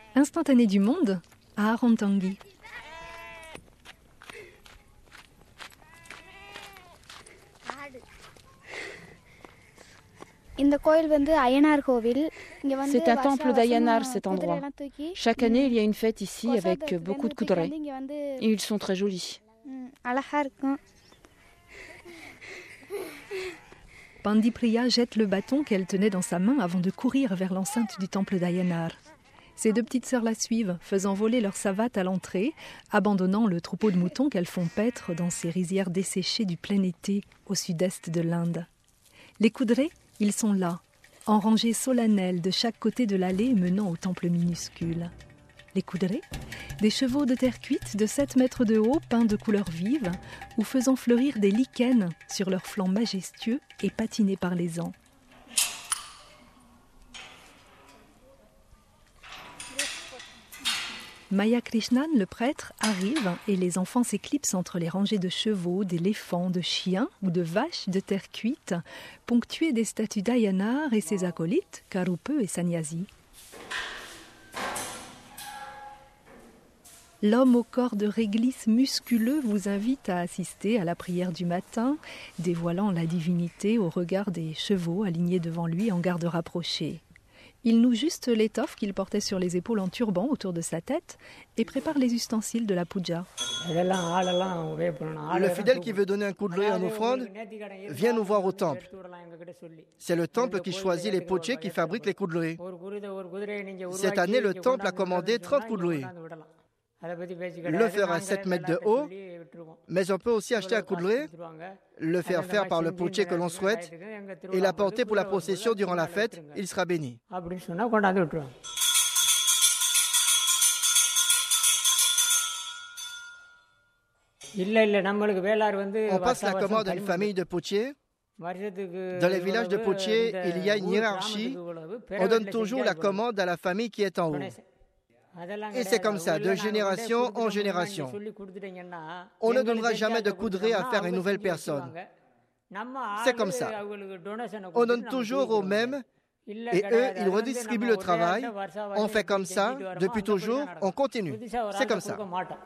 Instantané du monde à Arantangi. C'est un temple d'Ayanar, cet endroit. Chaque année, il y a une fête ici avec beaucoup de kudrai. Et ils sont très jolis. Pandipriya jette le bâton qu'elle tenait dans sa main avant de courir vers l'enceinte du temple d'Ayanar. Ses deux petites sœurs la suivent, faisant voler leur savate à l'entrée, abandonnant le troupeau de moutons qu'elles font paître dans ces rizières desséchées du plein été au sud-est de l'Inde. Les kudrai, ils sont là, en rangées solennelles de chaque côté de l'allée menant au temple minuscule. Les kudrai, des chevaux de terre cuite de 7 mètres de haut, peints de couleurs vives, ou faisant fleurir des lichens sur leurs flancs majestueux et patinés par les ans. Maya Krishnan, le prêtre, arrive et les enfants s'éclipsent entre les rangées de chevaux, d'éléphants, de chiens ou de vaches de terre cuite, ponctuées des statues d'Ayanar et ses acolytes, Karupe et Sannyasi. L'homme au corps de réglisse musculeux vous invite à assister à la prière du matin, dévoilant la divinité au regard des chevaux alignés devant lui en garde rapprochée. Il noue juste l'étoffe qu'il portait sur les épaules en turban autour de sa tête et prépare les ustensiles de la puja. Le fidèle qui veut donner un coup de l'œil en offrande vient nous voir au temple. C'est le temple qui choisit les potiers qui fabriquent les coups de l'œil. Cette année, le temple a commandé 30 coups de l'œil. Le faire à 7 mètres de haut, mais on peut aussi acheter un coup de l'œil, le faire faire par le potier que l'on souhaite et l'apporter pour la procession durant la fête, il sera béni. On passe la commande à une famille de potiers. Dans les villages de potiers, il y a une hiérarchie. On donne toujours la commande à la famille qui est en haut. Et c'est comme ça, de génération en génération. On ne donnera jamais de coudray à faire une nouvelle personne. C'est comme ça. On donne toujours aux mêmes et eux, ils redistribuent le travail. On fait comme ça, depuis toujours, on continue. C'est comme ça.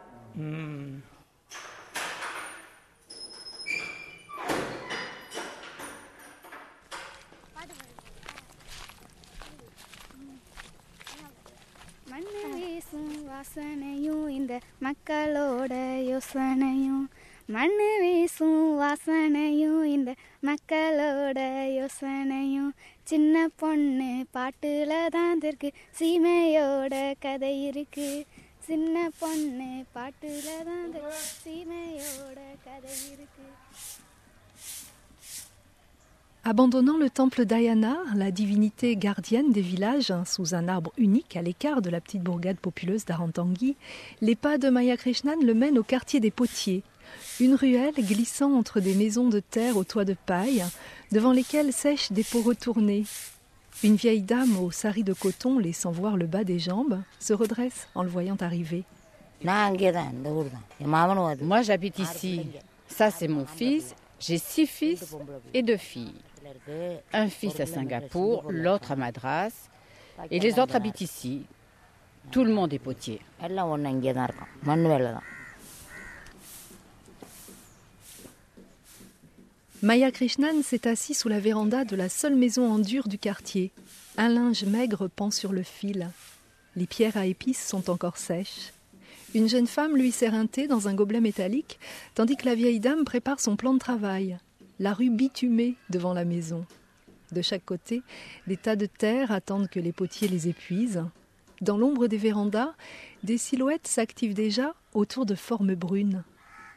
வாசனையும் இந்த மக்களோட யோசனையும் மண்ணு வீசும் வாசனையும் இந்த மக்களோட யோசனையும் சின்ன பொண்ணு பாட்டுல தான் இருக்கு சீமையோட கதை இருக்கு சின்ன பொண்ணு பாட்டுல தான் சீமையோட கதை இருக்கு. Abandonnant le temple d'Ayanar, la divinité gardienne des villages, sous un arbre unique à l'écart de la petite bourgade populeuse d'Arantangi, les pas de Maya Krishnan le mènent au quartier des Potiers, une ruelle glissant entre des maisons de terre aux toits de paille, devant lesquelles sèchent des pots retournés. Une vieille dame au sari de coton, laissant voir le bas des jambes, se redresse en le voyant arriver. Moi j'habite ici. Ça c'est mon fils. J'ai 6 fils et 2 filles. Un fils à Singapour, l'autre à Madras, et les autres habitent ici. Tout le monde est potier. Maya Krishnan s'est assis sous la véranda de la seule maison en dur du quartier. Un linge maigre pend sur le fil. Les pierres à épices sont encore sèches. Une jeune femme lui sert un thé dans un gobelet métallique, tandis que la vieille dame prépare son plan de travail. La rue bitumée devant la maison. De chaque côté, des tas de terre attendent que les potiers les épuisent. Dans l'ombre des vérandas, des silhouettes s'activent déjà autour de formes brunes.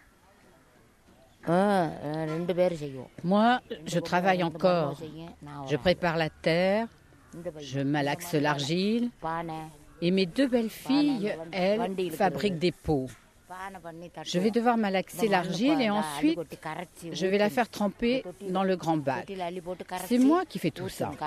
Moi, je travaille encore. Je prépare la terre, je malaxe l'argile, et mes 2 belles filles, elles, fabriquent des pots. Je vais devoir malaxer l'argile et ensuite, je vais la faire tremper dans le grand bac. C'est moi qui fais tout ça.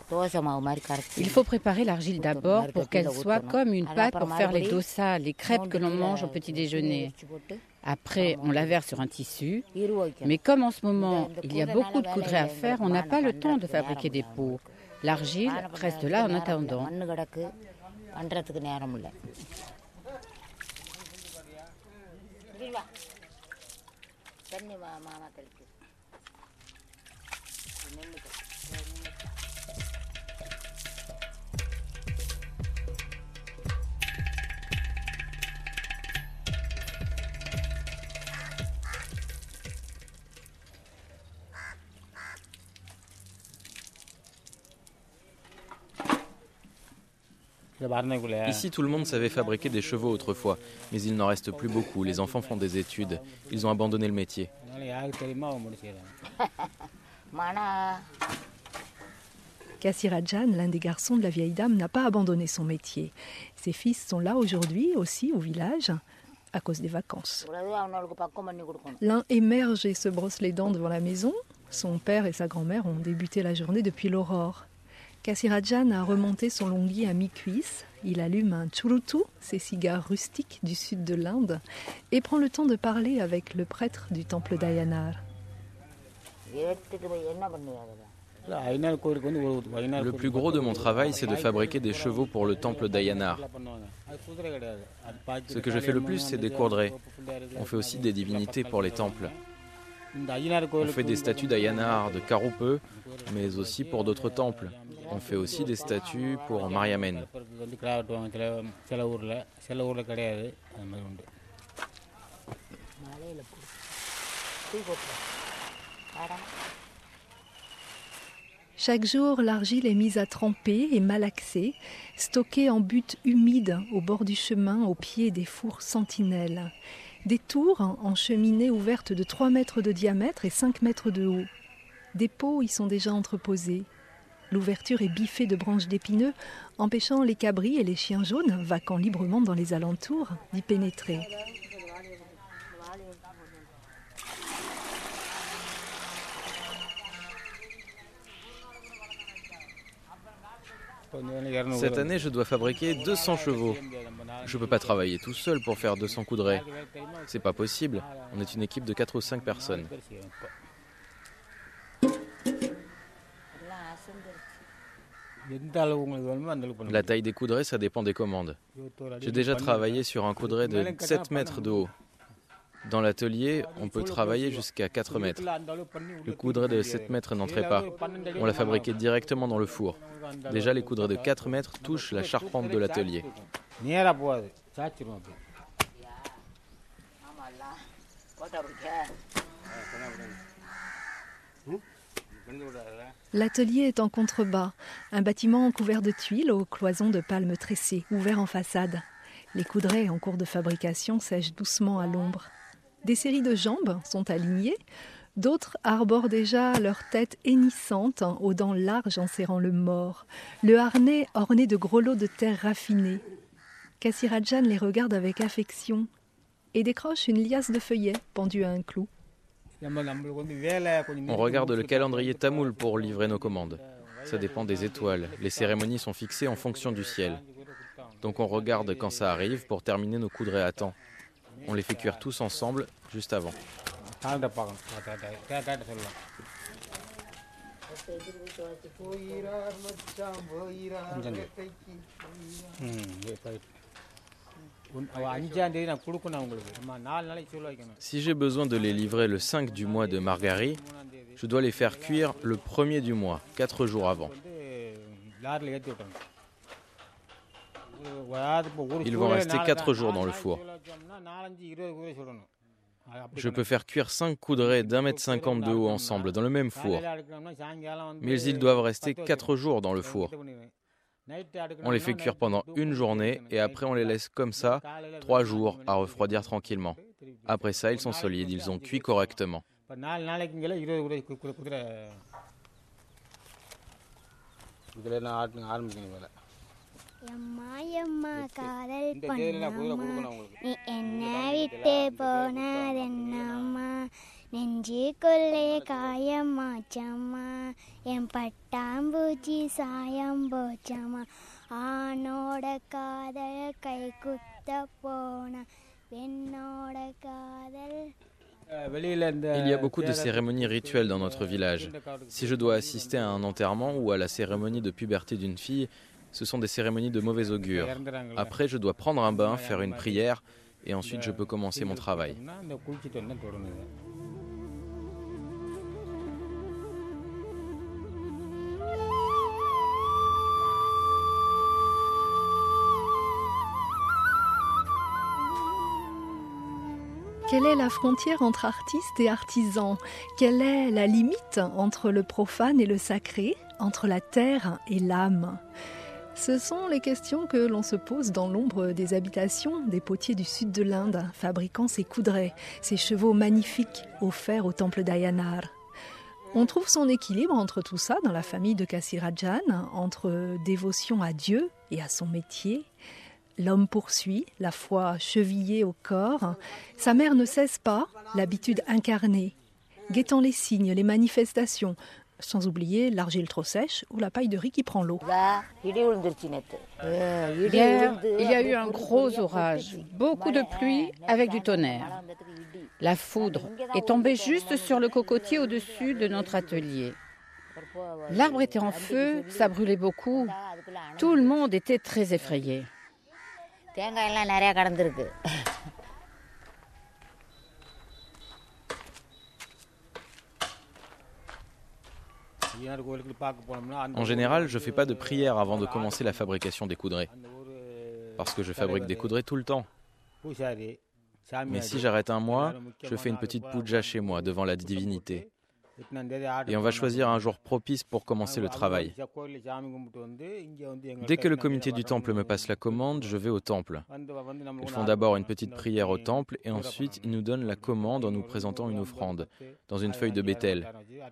Il faut préparer l'argile d'abord pour qu'elle soit comme une pâte pour faire les dosas, les crêpes que l'on mange au petit déjeuner. Après, on la verse sur un tissu. Mais comme en ce moment, il y a beaucoup de coudrées à faire, on n'a pas le temps de fabriquer des pots. L'argile reste là en attendant. Ici, tout le monde savait fabriquer des chevaux autrefois, mais il n'en reste plus beaucoup. Les enfants font des études. Ils ont abandonné le métier. Kassirajan, l'un des garçons de la vieille dame, n'a pas abandonné son métier. Ses fils sont là aujourd'hui aussi au village à cause des vacances. L'un émerge et se brosse les dents devant la maison. Son père et sa grand-mère ont débuté la journée depuis l'aurore. Kassirajan a remonté son longhi à mi-cuisse. Il allume un churutu, ces cigares rustiques du sud de l'Inde, et prend le temps de parler avec le prêtre du temple d'Ayanar. Le plus gros de mon travail, c'est de fabriquer des chevaux pour le temple d'Ayanar. Ce que je fais le plus, c'est des coudrées. On fait aussi des divinités pour les temples. On fait des statues d'Ayanar, de Karupeu, mais aussi pour d'autres temples. On fait aussi des statues pour Mariammen. Chaque jour, l'argile est mise à tremper et malaxée, stockée en buttes humides au bord du chemin, au pied des fours sentinelles. Des tours en cheminée ouvertes de 3 mètres de diamètre et 5 mètres de haut. Des pots y sont déjà entreposés. L'ouverture est biffée de branches d'épineux, empêchant les cabris et les chiens jaunes, vaquant librement dans les alentours, d'y pénétrer. Cette année, je dois fabriquer 200 chevaux. Je ne peux pas travailler tout seul pour faire 200 coudrées. C'est pas possible. On est une équipe de 4 ou 5 personnes. La taille des coudrées, ça dépend des commandes. J'ai déjà travaillé sur un coudret de 7 mètres de haut. Dans l'atelier, on peut travailler jusqu'à 4 mètres. Le coudret de 7 mètres n'entrait pas. On l'a fabriqué directement dans le four. Déjà, les coudrets de 4 mètres touchent la charpente de l'atelier. L'atelier est en contrebas, un bâtiment couvert de tuiles aux cloisons de palmes tressées, ouvert en façade. Les coudrets en cours de fabrication sèchent doucement à l'ombre. Des séries de jambes sont alignées, d'autres arborent déjà leur tête hennissante, aux dents larges en serrant le mors, le harnais orné de gros lots de terre raffinée. Kassirajan les regarde avec affection et décroche une liasse de feuillets pendue à un clou. On regarde le calendrier tamoul pour livrer nos commandes. Ça dépend des étoiles. Les cérémonies sont fixées en fonction du ciel. Donc on regarde quand ça arrive pour terminer nos coudrées à temps. On les fait cuire tous ensemble, juste avant. Si j'ai besoin de les livrer le 5 du mois de Margari, je dois les faire cuire le 1er du mois, 4 jours avant. Ils vont rester 4 jours dans le four. Je peux faire cuire 5 coudrées d'1,50 m de haut ensemble dans le même four. Mais ils doivent rester 4 jours dans le four. On les fait cuire pendant une journée et après on les laisse comme ça 3 jours à refroidir tranquillement. Après ça, ils sont solides, ils ont cuit correctement. Il y a beaucoup de cérémonies rituelles dans notre village. Si je dois assister à un enterrement ou à la cérémonie de puberté d'une fille, ce sont des cérémonies de mauvais augure. Après, je dois prendre un bain, faire une prière, et ensuite je peux commencer mon travail. Quelle est la frontière entre artistes et artisans? Quelle est la limite entre le profane et le sacré, entre la terre et l'âme? Ce sont les questions que l'on se pose dans l'ombre des habitations des potiers du sud de l'Inde, fabriquant ces coudrets, ces chevaux magnifiques offerts au temple d'Ayanar. On trouve son équilibre entre tout ça dans la famille de Kasirajan, entre dévotion à Dieu et à son métier. L'homme poursuit, la foi chevillée au corps. Sa mère ne cesse pas, l'habitude incarnée, guettant les signes, les manifestations, sans oublier l'argile trop sèche ou la paille de riz qui prend l'eau. Hier, il y a eu un gros orage, beaucoup de pluie avec du tonnerre. La foudre est tombée juste sur le cocotier au-dessus de notre atelier. L'arbre était en feu, ça brûlait beaucoup. Tout le monde était très effrayé. En général, je ne fais pas de prière avant de commencer la fabrication des coudrets, parce que je fabrique des coudrets tout le temps. Mais si j'arrête un mois, je fais une petite puja chez moi, devant la divinité. Et on va choisir un jour propice pour commencer le travail. Dès que le comité du temple me passe la commande, je vais au temple. Ils font d'abord une petite prière au temple et ensuite ils nous donnent la commande en nous présentant une offrande, dans une feuille de bétel.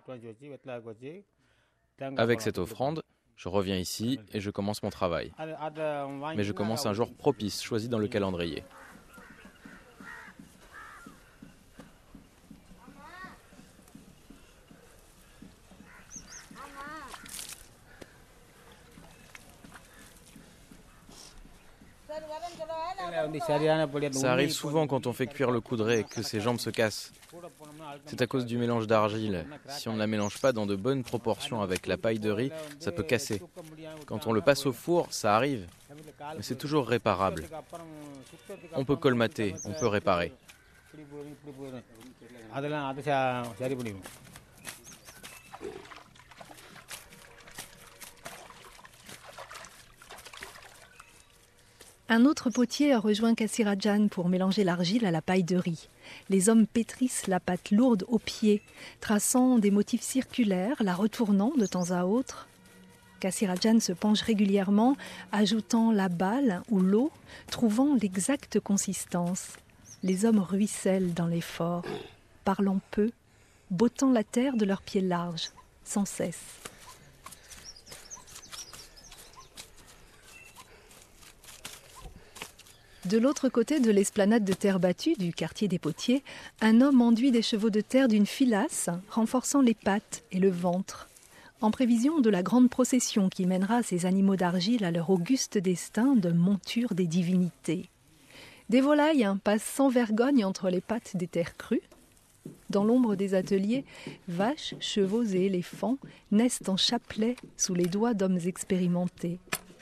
Avec cette offrande, je reviens ici et je commence mon travail. Mais je commence un jour propice, choisi dans le calendrier. Ça arrive souvent quand on fait cuire le coudret que ses jambes se cassent. C'est à cause du mélange d'argile. Si on ne la mélange pas dans de bonnes proportions avec la paille de riz, ça peut casser. Quand on le passe au four, ça arrive. Mais c'est toujours réparable. On peut colmater, on peut réparer. Un autre potier a rejoint Kasirajan pour mélanger l'argile à la paille de riz. Les hommes pétrissent la pâte lourde au pied, traçant des motifs circulaires, la retournant de temps à autre. Kasirajan se penche régulièrement, ajoutant la balle ou l'eau, trouvant l'exacte consistance. Les hommes ruissellent dans l'effort, parlant peu, bottant la terre de leurs pieds larges, sans cesse. De l'autre côté de l'esplanade de terre battue du quartier des Potiers, un homme enduit des chevaux de terre d'une filasse, renforçant les pattes et le ventre, en prévision de la grande procession qui mènera ces animaux d'argile à leur auguste destin de monture des divinités. Des volailles passent sans vergogne entre les pattes des terres crues. Dans l'ombre des ateliers, vaches, chevaux et éléphants naissent en chapelet sous les doigts d'hommes expérimentés.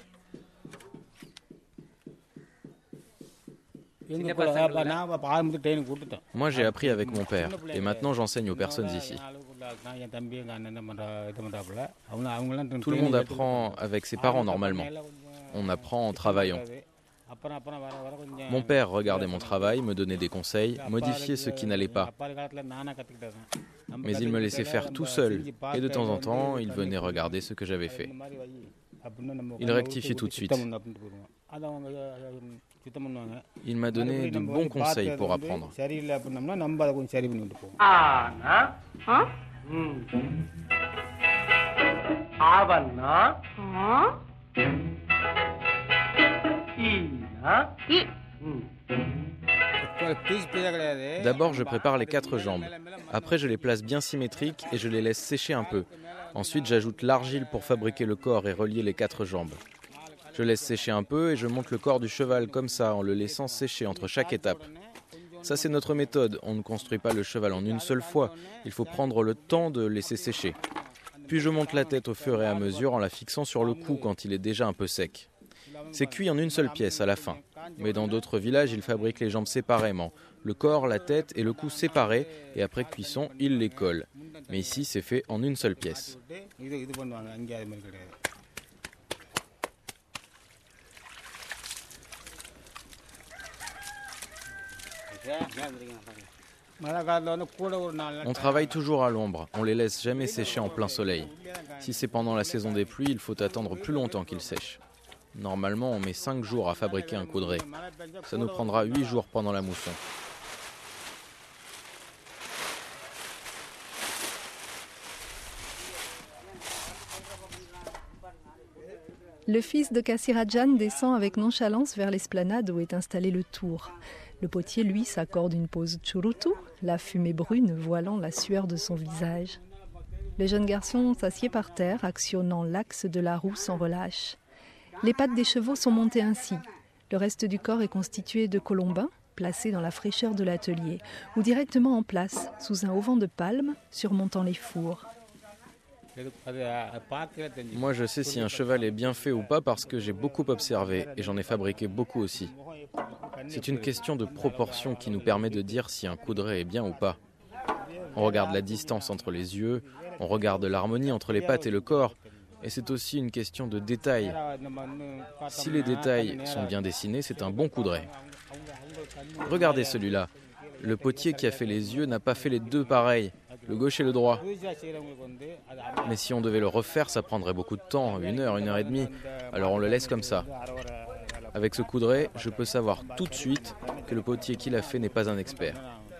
Moi, j'ai appris avec mon père, et maintenant j'enseigne aux personnes ici. Tout le monde apprend avec ses parents normalement. On apprend en travaillant. Mon père regardait mon travail, me donnait des conseils, modifiait ce qui n'allait pas. Mais il me laissait faire tout seul, et de temps en temps, il venait regarder ce que j'avais fait. Il rectifiait tout de suite. Il m'a donné de bons conseils pour apprendre. D'abord, je prépare les 4 jambes. Après, je les place bien symétriques et je les laisse sécher un peu. Ensuite, j'ajoute l'argile pour fabriquer le corps et relier les 4 jambes. Je laisse sécher un peu et je monte le corps du cheval comme ça, en le laissant sécher entre chaque étape. Ça, c'est notre méthode. On ne construit pas le cheval en une seule fois. Il faut prendre le temps de laisser sécher. Puis je monte la tête au fur et à mesure en la fixant sur le cou quand il est déjà un peu sec. C'est cuit en une seule pièce à la fin. Mais dans d'autres villages, ils fabriquent les jambes séparément. Le corps, la tête et le cou séparés. Et après cuisson, ils les collent. Mais ici, c'est fait en une seule pièce. On travaille toujours à l'ombre, on les laisse jamais sécher en plein soleil. Si c'est pendant la saison des pluies, il faut attendre plus longtemps qu'ils sèchent. Normalement, on met 5 jours à fabriquer un coudray. Ça nous prendra 8 jours pendant la mousson. Le fils de Kassirajan descend avec nonchalance vers l'esplanade où est installé le tour. Le potier, lui, s'accorde une pose churutu, la fumée brune voilant la sueur de son visage. Le jeune garçon s'assied par terre, actionnant l'axe de la roue sans relâche. Les pattes des chevaux sont montées ainsi. Le reste du corps est constitué de colombins, placés dans la fraîcheur de l'atelier, ou directement en place, sous un auvent de palme, surmontant les fours. Moi, je sais si un cheval est bien fait ou pas parce que j'ai beaucoup observé et j'en ai fabriqué beaucoup aussi. C'est une question de proportion qui nous permet de dire si un coudray est bien ou pas. On regarde la distance entre les yeux, on regarde l'harmonie entre les pattes et le corps, et c'est aussi une question de détails. Si les détails sont bien dessinés, c'est un bon coudray. Regardez celui-là. Le potier qui a fait les yeux n'a pas fait les deux pareils, le gauche et le droit. Mais si on devait le refaire, ça prendrait beaucoup de temps, 1 heure, 1 heure et demie. Alors on le laisse comme ça. Avec ce coudray, je peux savoir tout de suite que le potier qui l'a fait n'est pas un expert.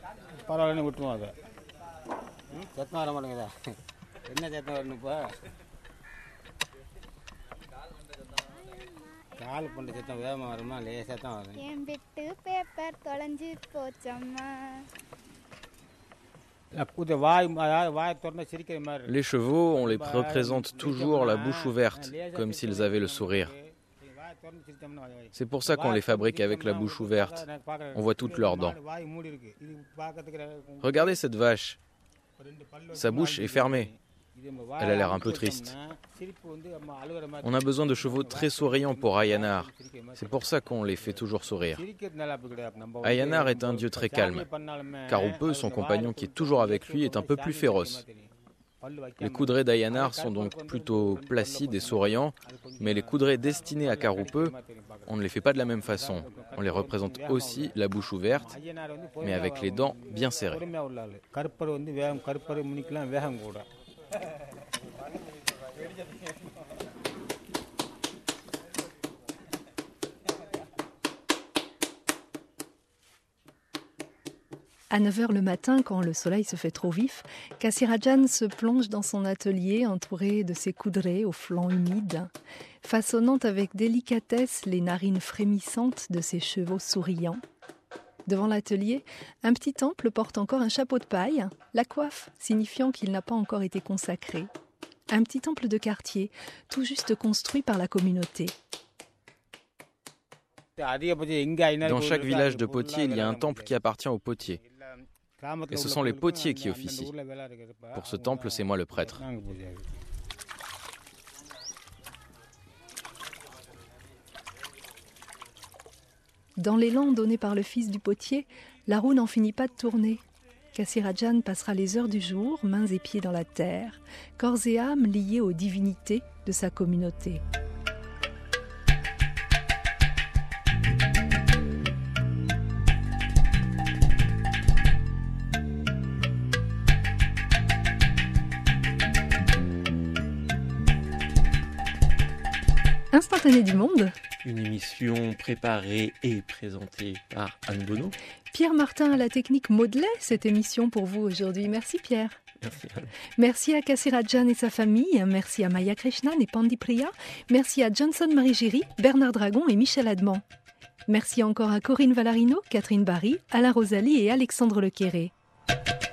Les chevaux, on les représente toujours la bouche ouverte, comme s'ils avaient le sourire. C'est pour ça qu'on les fabrique avec la bouche ouverte. On voit toutes leurs dents. Regardez cette vache. Sa bouche est fermée. Elle a l'air un peu triste. On a besoin de chevaux très souriants pour Ayanar. C'est pour ça qu'on les fait toujours sourire. Ayanar est un dieu très calme. Karupe, son compagnon qui est toujours avec lui, est un peu plus féroce. Les coudrais d'Ayanar sont donc plutôt placides et souriants, mais les coudrais destinés à Karupe, on ne les fait pas de la même façon. On les représente aussi la bouche ouverte, mais avec les dents bien serrées. À 9h le matin, quand le soleil se fait trop vif, Kassirajan se plonge dans son atelier entouré de ses coudrais aux flancs humides, façonnant avec délicatesse les narines frémissantes de ses chevaux souriants. Devant l'atelier, un petit temple porte encore un chapeau de paille, la coiffe signifiant qu'il n'a pas encore été consacré. Un petit temple de quartier, tout juste construit par la communauté. Dans chaque village de potiers, il y a un temple qui appartient aux potiers. Et ce sont les potiers qui officient. Pour ce temple, c'est moi le prêtre. Dans l'élan donné par le fils du potier, la roue n'en finit pas de tourner. Kassirajan passera les heures du jour, mains et pieds dans la terre, corps et âme liés aux divinités de sa communauté. Instantané du monde. Une émission préparée et présentée par Anne Bonneau. Pierre Martin à la technique modelait cette émission pour vous aujourd'hui. Merci Pierre. Merci Anne. Merci à Kassirajan et sa famille. Merci à Maya Krishnan et Pandi Priya. Merci à Johnson Marie-Géry, Bernard Dragon et Michel Adman. Merci encore à Corinne Valarino, Catherine Barry, Alain Rosalie et Alexandre Lequéré.